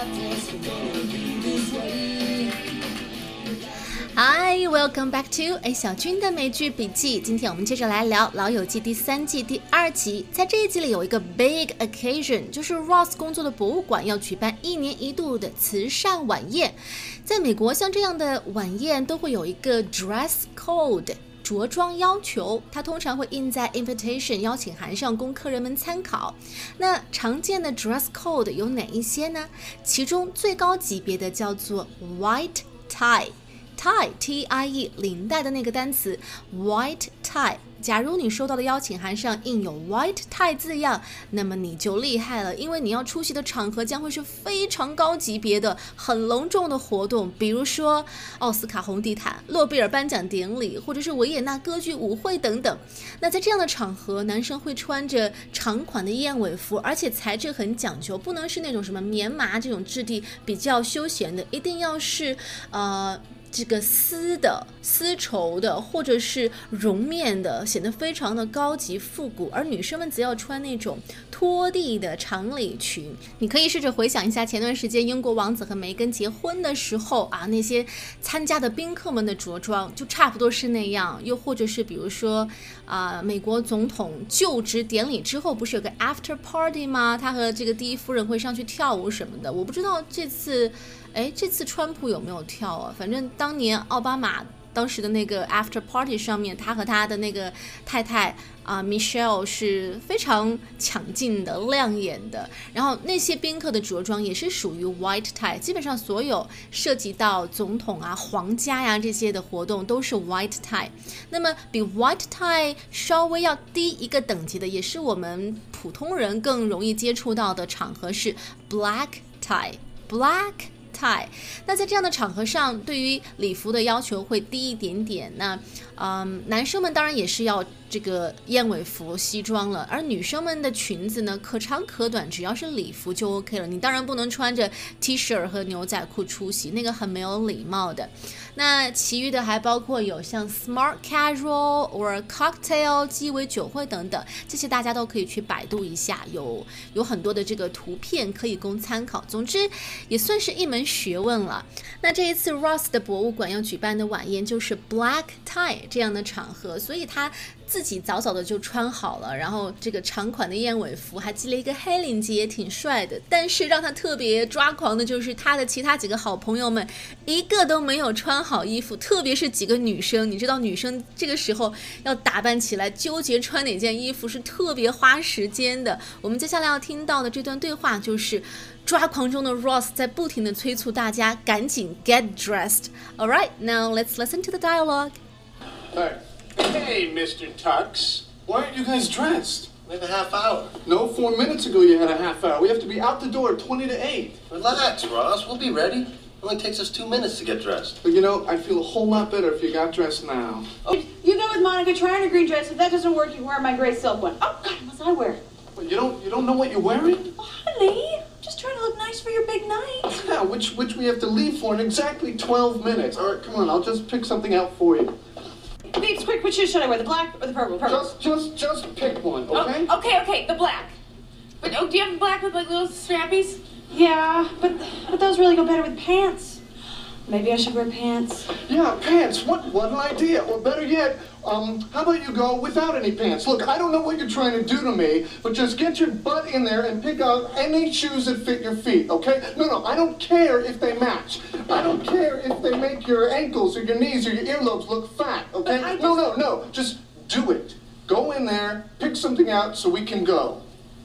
Hi, welcome back to 小军的美剧笔记。今天我们接着来聊《老友记》第3季第2集。在这一集里有一个 big occasion， 就是 Ross 工作的博物馆要举办1年1度的慈善晚宴。在美国，像这样的晚宴都会有一个 dress code。着装要求，它通常会印在 invitation 邀请函上供客人们参考。那常见的 dress code 有哪一些呢？其中最高级别的叫做 white tie。tie T-I-E 领带的那个单词 white tie， 假如你收到的邀请函上印有 white tie 字样，那么你就厉害了，因为你要出席的场合将会是非常高级别的很隆重的活动，比如说奥斯卡红地毯、诺贝尔颁奖典礼，或者是维也纳歌剧舞会等等。那在这样的场合，男生会穿着长款的燕尾服，而且材质很讲究，不能是那种什么棉麻这种质地比较休闲的，一定要是这个丝的、丝绸的，或者是绒面的，显得非常的高级复古。而女生们则要穿那种拖地的长礼裙。你可以试着回想一下前段时间英国王子和梅根结婚的时候啊，那些参加的宾客们的着装就差不多是那样。又或者是比如说美国总统就职典礼之后不是有个 after party 吗？他和这个第一夫人会上去跳舞什么的。我不知道这次川普有没有跳啊？反正当年奥巴马当时的那个 after party 上面，他和他的那个太太Michelle 是非常抢镜的、亮眼的。然后那些宾客的着装也是属于 white tie， 基本上所有涉及到总统啊、皇家呀这些的活动都是 white tie。那么比 white tie 稍微要低一个等级的，也是我们普通人更容易接触到的场合是 black tie。black tie， 那在这样的场合上，对于礼服的要求会低一点点。那男生们当然也是要这个燕尾服、西装了，而女生们的裙子呢，可长可短，只要是礼服就 OK 了。你当然不能穿着 T 恤和牛仔裤出席，那个很没有礼貌的。那其余的还包括有像 smart casual or cocktail 鸡尾酒会等等，这些大家都可以去百度一下，有很多的这个图片可以供参考。总之也算是一门学问了。那这一次 Ross 的博物馆要举办的晚宴就是 black tie 这样的场合，所以他自己早早的就穿好了，然后这个长款的燕尾服还系了一个黑领结，也挺帅的。但是让他特别抓狂的就是他的其他几个好朋友们一个都没有穿好衣服，特别是几个女生。你知道女生这个时候要打扮起来，纠结穿哪件衣服是特别花时间的。我们接下来要听到的这段对话就是抓狂中的 Ross 在不停地催促大家赶紧 get dressed. Alright, now let's listen to the dialogue. Hey, Mr. Tux. Why aren't you guys dressed? We have a half hour. No, 4 minutes ago you had a half hour. We have to be out the door at 20 to 8. Relax, Ross. We'll be ready. It only takes us 2 minutes to get dressed. But you know, I'd feel a whole lot better if you got dressed now. Oh. You go with Monica, try on a green dress. If that doesn't work, you can wear my gray silk one. Oh, God, what must I wear? Well, you don't know what you're wearing? Oh, honey, just trying to look nice for your big night. Yeah, which we have to leave for in exactly 12 minutes. All right, come on, I'll just pick something out for you. Babes, quick, which shoe should I wear? The black or the purple? Just pick one, okay? Oh, okay, the black. But do you have black with like little strappies? Yeah, but those really go better with pants. Maybe I should wear pants. Yeah, pants. What an idea. Or better yet, how about you go without any pants? Look, I don't know what you're trying to do to me, but just get your butt in there and pick out any shoes that fit your feet, okay? No, I don't care if they match. I don't care if they make your ankles or your knees or your earlobes look fat, okay? No. Just do it. Go in there, pick something out so we can go.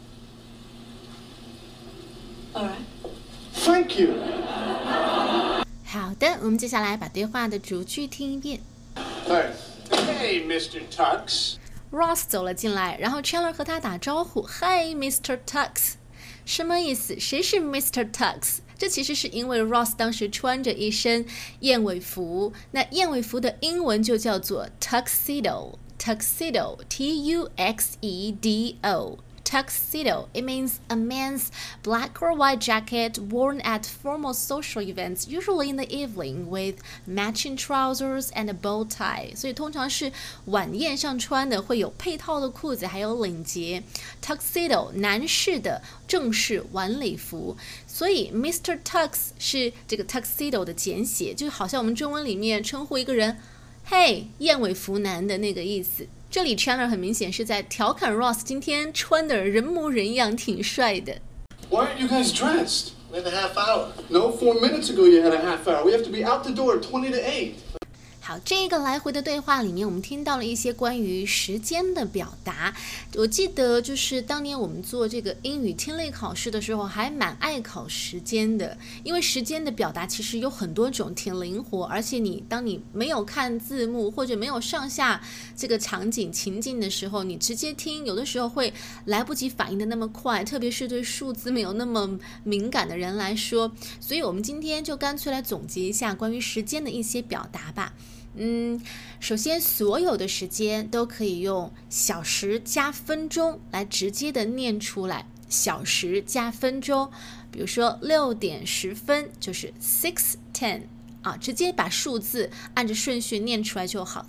All right. Thank you. 好的，我们接下来把对话的逐句听一遍。 Hey, Mr. Tux. Ross 走了进来，然后 Chandler 和他打招呼 ，Hi, Mr. Tux。什么意思？谁是 Mr. Tux？ 这其实是因为 Ross 当时穿着一身燕尾服，那燕尾服的英文就叫做 tuxedo， tuxedo， T-U-X-E-D-O。 tuxedo. It means a man's black or white jacket worn at formal social events, usually in the evening, with matching trousers and a bow tie. 所以通常是晚宴上穿的，会有配套的裤子，还有领结。Tuxedo 男士的正式晚礼服。所以 Mr. Tux 是这个 tuxedo 的简写，就好像我们中文里面称呼一个人嘿，燕尾服男的那个意思。这里 Chandler 很明显是在调侃 Ross 今天穿的人模人样，挺帅的。 Why aren't you guys dressed? We have a half hour. No, 4 minutes ago you had a half hour. We have to be out the door at 20 to 8. 好，这个来回的对话里面，我们听到了一些关于时间的表达。我记得就是当年我们做这个英语听力考试的时候，还蛮爱考时间的，因为时间的表达其实有很多种，挺灵活，而且当你没有看字幕或者没有上下这个场景情境的时候，你直接听，有的时候会来不及反应的那么快，特别是对数字没有那么敏感的人来说。所以我们今天就干脆来总结一下关于时间的一些表达吧。首先所有的时间都可以用小时加分钟来直接的念出来，小时加分钟，比如说6点10分就是 6:10 啊，直接把数字按着顺序念出来就好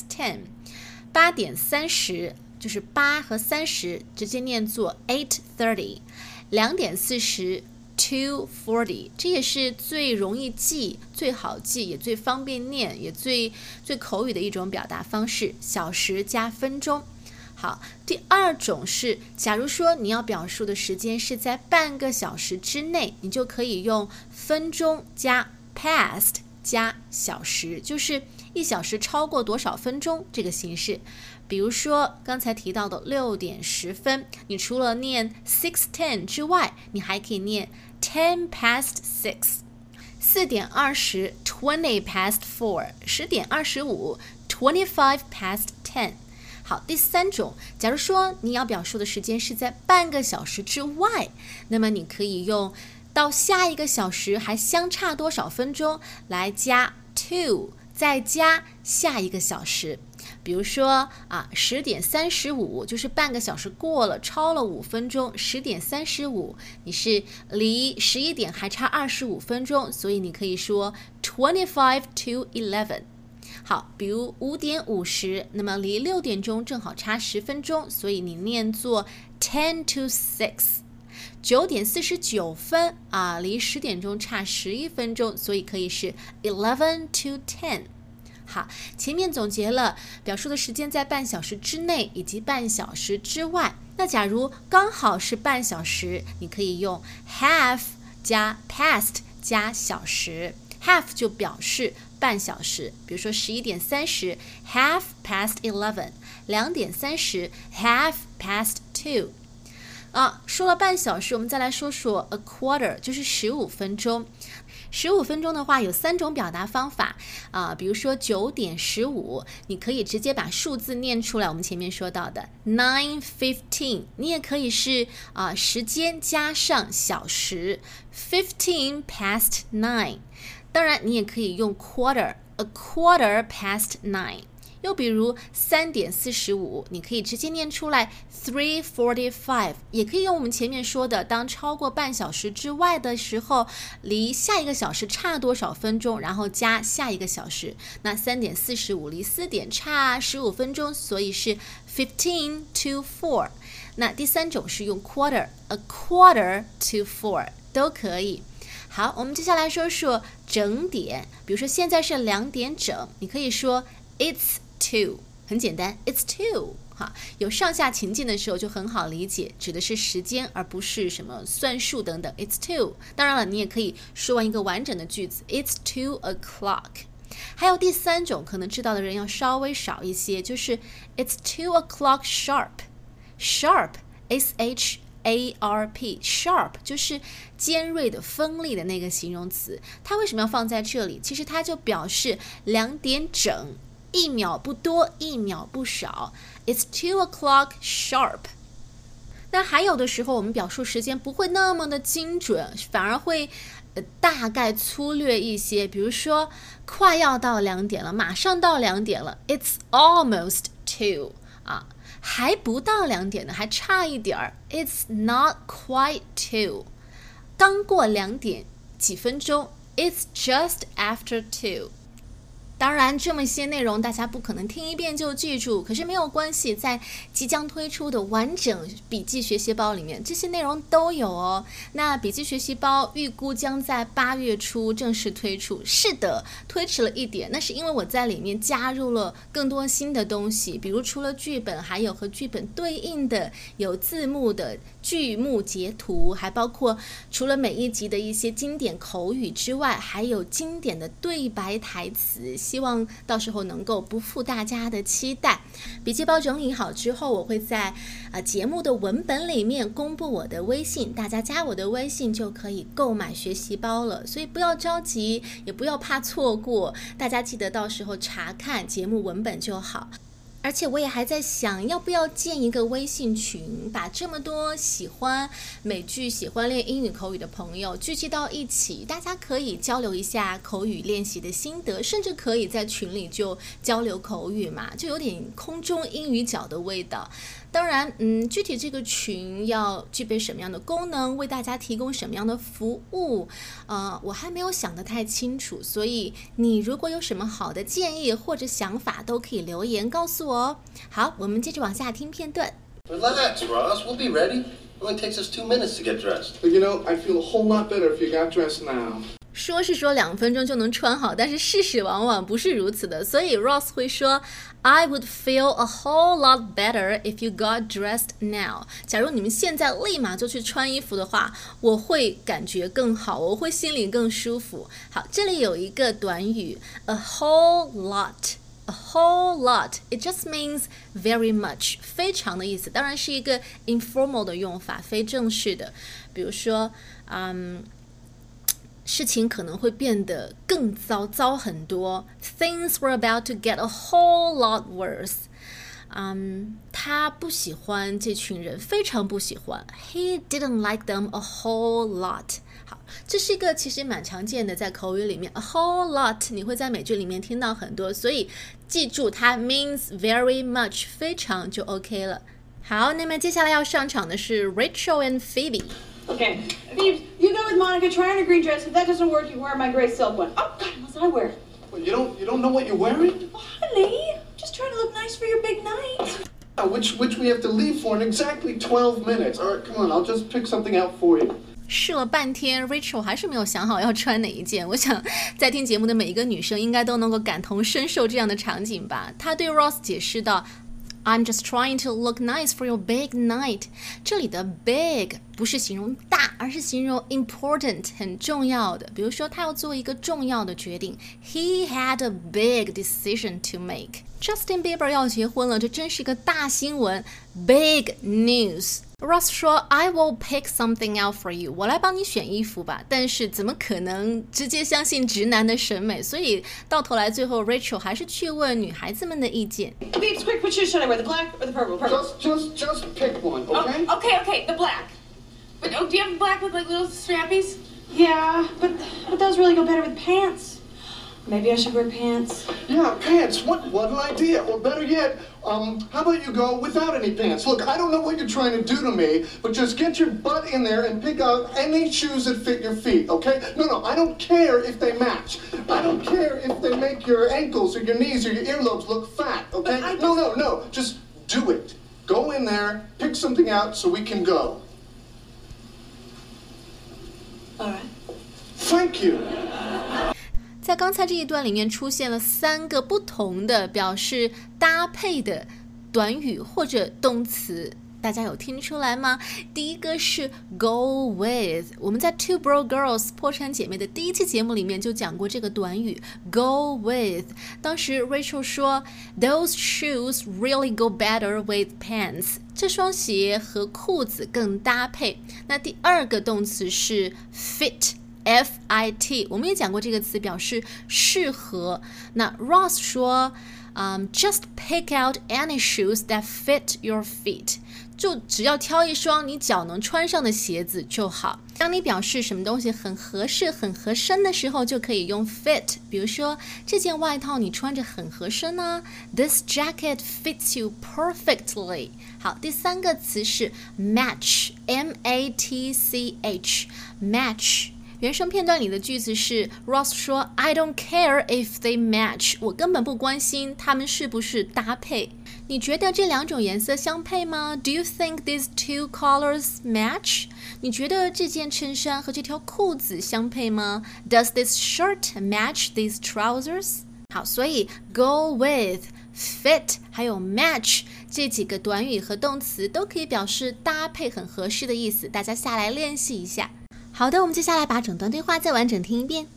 6:10。8点30就是8和30直接念作 8:30。2点402:40， 这也是最容易记、最好记，也最方便念，也最口语的一种表达方式，小时加分钟。好，第二种是，假如说你要表述的时间是在半个小时之内，你就可以用分钟加 past 加小时，就是1小时超过多少分钟这个形式。比如说刚才提到的6点10分，你除了念 6:10 之外，你还可以念 10 past 6。4点20 20 past 4， 10点25 25 past 10。好，第三种，假如说你要表述的时间是在半个小时之外，那么你可以用到下一个小时还相差多少分钟来加 to， 再加下一个小时。比如说10点35就是半个小时过了，超了5分钟。10点35你是离11点还差25分钟，所以你可以说25 to 11。好，比如5点50，那么离6点钟正好差10分钟，所以你念作10 to 6。9点49分离10点钟差11分钟，所以可以是11 to 10。好，前面总结了表述的时间在半小时之内以及半小时之外。那假如刚好是半小时，你可以用 half 加 past 加小时。half 就表示半小时，比如说11点30 half past 11， 2点30 half past 2。说了半小时，我们再来说说 a quarter， 就是15分钟。15分钟的话有3种表达方法比如说9点15，你可以直接把数字念出来，我们前面说到的 9:15， 你也可以是时间加上小时 15 past 9， 当然你也可以用 quarter， a quarter past 9。又比如3点45，你可以直接念出来 3:45， 也可以用我们前面说的，当超过半小时之外的时候，离下一个小时差多少分钟，然后加下一个小时。那3点45离4点差15分钟，所以是15 to 4。那第三种是用 quarter， a quarter to 4 都可以。好，我们接下来说说整点，比如说现在是2点整，你可以说 It's 2， 很简单 It's 2。有上下情境的时候就很好理解，指的是时间而不是什么算术等等。 It's 2， 当然了，你也可以说完一个完整的句子 It's 2 o'clock。 还有第三种可能知道的人要稍微少一些，就是 It's 2 o'clock sharp。 Sharp S-H-A-R-P sharp 就是尖锐的锋利的那个形容词，它为什么要放在这里？其实它就表示2点整，1秒不多1秒不少。 It's 2 o'clock sharp。 那还有的时候我们表述时间不会那么的精准，反而会大概粗略一些，比如说快要到2点了，马上到2点了， It's almost 2 啊，还不到2点呢，还差一点儿。It's not quite 2， 刚过2点几分钟。It's just after 2。当然这么些内容大家不可能听一遍就记住，可是没有关系，在即将推出的完整笔记学习包里面这些内容都有哦。那笔记学习包预估将在8月初正式推出，是的，推迟了一点，那是因为我在里面加入了更多新的东西，比如除了剧本，还有和剧本对应的有字幕的剧目截图，还包括除了每一集的一些经典口语之外，还有经典的对白台词，希望到时候能够不负大家的期待。笔记包整理好之后，我会在节目的文本里面公布我的微信，大家加我的微信就可以购买学习包了，所以不要着急，也不要怕错过，大家记得到时候查看节目文本就好。而且我也还在想，要不要建一个微信群，把这么多喜欢美剧、喜欢练英语口语的朋友聚集到一起，大家可以交流一下口语练习的心得，甚至可以在群里就交流口语嘛，就有点空中英语角的味道。当然，具体这个群要具备什么样的功能，为大家提供什么样的服务，我还没有想得太清楚，所以你如果有什么好的建议或者想法，都可以留言告诉我哦。好，我们接着往下听片段。 Relax, Ross. We'll be ready. It only takes us 2 minutes to get dressed. But you know, I feel a whole lot better if you got dressed now. 说是说2分钟就能穿好，但是事实往往不是如此的，所以 Ross 会说 I would feel a whole lot better if you got dressed now。 假如你们现在立马就去穿衣服的话，我会感觉更好，我会心里更舒服。好，这里有一个短语 a whole lot。A whole lot, it just means very much， 非常的意思，当然是一个 informal 的用法，非正式的。比如说，事情可能会变得更糟很多。Things were about to get a whole lot worse。他不喜欢这群人，非常不喜欢。He didn't like them a whole lot。好，这是一个其实蛮常见的，在口语里面 a whole lot 你会在美剧里面听到很多，所以记住它 means very much， 非常就 OK 了。好，那么接下来要上场的是 Rachel and Phoebe。Okay, Phoebe, you go with Monica, try on a green dress. If that doesn't work, you wear my gray silk one. Oh, God, what did I wear? Well, you don't know what you're wearing? Well, honey, just trying to look nice for your big night. Which we have to leave for in exactly 12 minutes. All right, come on, I'll just pick something out for you. 试了半天 Rachel 还是没有想好要穿哪一件。我想在听节目的每一个女生应该都能够感同身受这样的场景吧。她对 Ross 解释道I'm just trying to look nice for your big night。 这里的 big 不是形容大，而是形容 important 很重要的。比如说他要做一个重要的决定， He had a big decision to make。 Justin Bieber 要结婚了，这真是一个大新闻， big news。 Ross 说 I will pick something out for you， 我来帮你选衣服吧。但是怎么可能直接相信直男的审美，所以到头来最后 Rachel 还是去问女孩子们的意见。 Babes, quick, which shoes should I wear? The black or the purple? Just pick one, okay? Oh, okay, the black. But do you have black with like little strappies? Yeah, but those really go better with pants. Maybe I should wear pants. Yeah, pants. What an idea. Or better yet, how about you go without any pants? Look, I don't know what you're trying to do to me, but just get your butt in there and pick out any shoes that fit your feet, okay? No, I don't care if they match. I don't care if they make your ankles or your knees or your earlobes look fat, okay? No. Just do it. Go in there, pick something out so we can go. All right. Thank you. 在刚才这一段里面出现了3个不同的表示搭配的短语或者动词，大家有听出来吗？第一个是 go with， 我们在 Two Bro Girls 破产姐妹的第1期节目里面就讲过这个短语 go with。 当时 Rachel 说 Those shoes really go better with pants， 这双鞋和裤子更搭配。那第2个动词是 fit，F-I-T， 我们也讲过这个词，表示适合。那 Ross 说 Just pick out any shoes that fit your feet. 就只要挑一双你脚能穿上的鞋子就好。当你表示什么东西很合适、很合身的时候，就可以用 fit。比如说，这件外套你穿着很合身啊。This jacket fits you perfectly. 好，第三个词是 match, M-A-T-C-H, match。原声片段里的句子是 Ross 说 I don't care if they match. 我根本不关心他们是不是搭配。你觉得这两种颜色相配吗？ Do you think these two colors match? 你觉得这件衬衫和这条裤子相配吗？ Does this shirt match these trousers? 好，所以 go with, fit 还有 match 这几个短语和动词都可以表示搭配很合适的意思，大家下来练习一下。好的，我们接下来把整段对话再完整听一遍。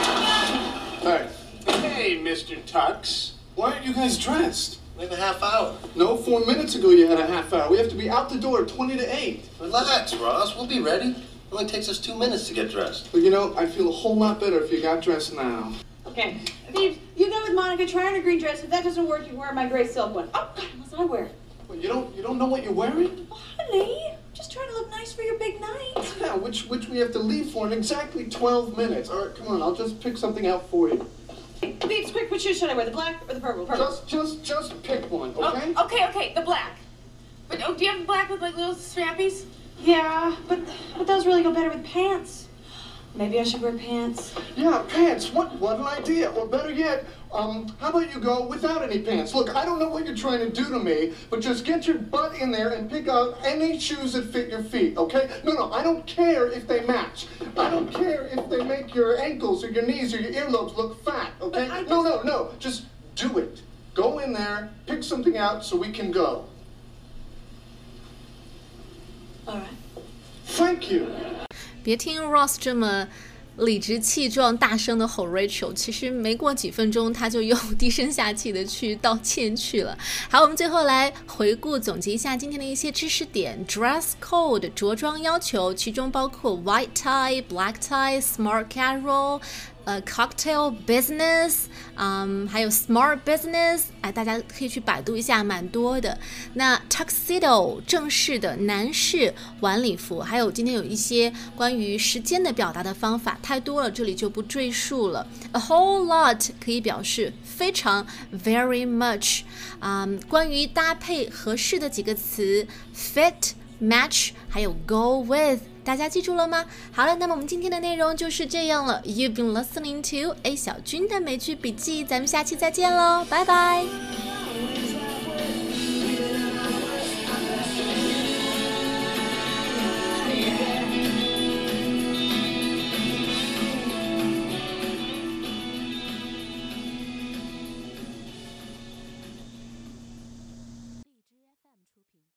Hey, Mr. Tux. Why aren't you guys dressed? We have a half hour. No, 4 minutes ago you had a half hour. We have to be out the door at 20 to 8. Relax, Ross. We'll be ready. It only takes us 2 minutes to get dressed. But you know, I'd feel a whole lot better if you got dressed now. Okay. Phoebe, you go with Monica. Try on a green dress. If that doesn't work, you wear my gray silk one. Oh, God, unless I wear it. Well, you don't know what you're wearing? Oh, honey, just trying to look nice for your big night. Yeah, which we have to leave for in exactly 12 minutes. All right, come on. I'll just pick something out for you. Phoebe, quick, which shoes should I wear? The black or the purple? Purple. Just pick one, okay? Oh, okay, the black. But do you have the black with like little strappies? Yeah, but those really go better with pants. Maybe I should wear pants. Yeah, pants. What an idea. Or better yet, how about you go without any pants? Look, I don't know what you're trying to do to me, but just get your butt in there and pick out any shoes that fit your feet, okay? No, I don't care if they match. I don't care if they make your ankles or your knees or your earlobes look fat, okay? No. Just do it. Go in there, pick something out so we can go. All right. Thank you. 别听 Ross 这么理直气壮大声的吼 Rachel， 其实没过几分钟他就又低声下气的去道歉去了。好，我们最后来回顾总结一下今天的一些知识点。 Dress code 着装要求，其中包括 white tie, black tie, smart casual, cocktail business, 还有 smart business， 大家可以去百度一下，蛮多的。那 tuxedo 正式的男士晚礼服，还有今天有一些关于时间的表达的方法，太多了，这里就不赘述了。A whole lot 可以表示非常 very much， 关于搭配合适的几个词 fit, match 还有 go with，大家记住了吗？好了，那么我们今天的内容就是这样了。You've been listening to A 小军的美剧笔记，咱们下期再见喽，拜拜。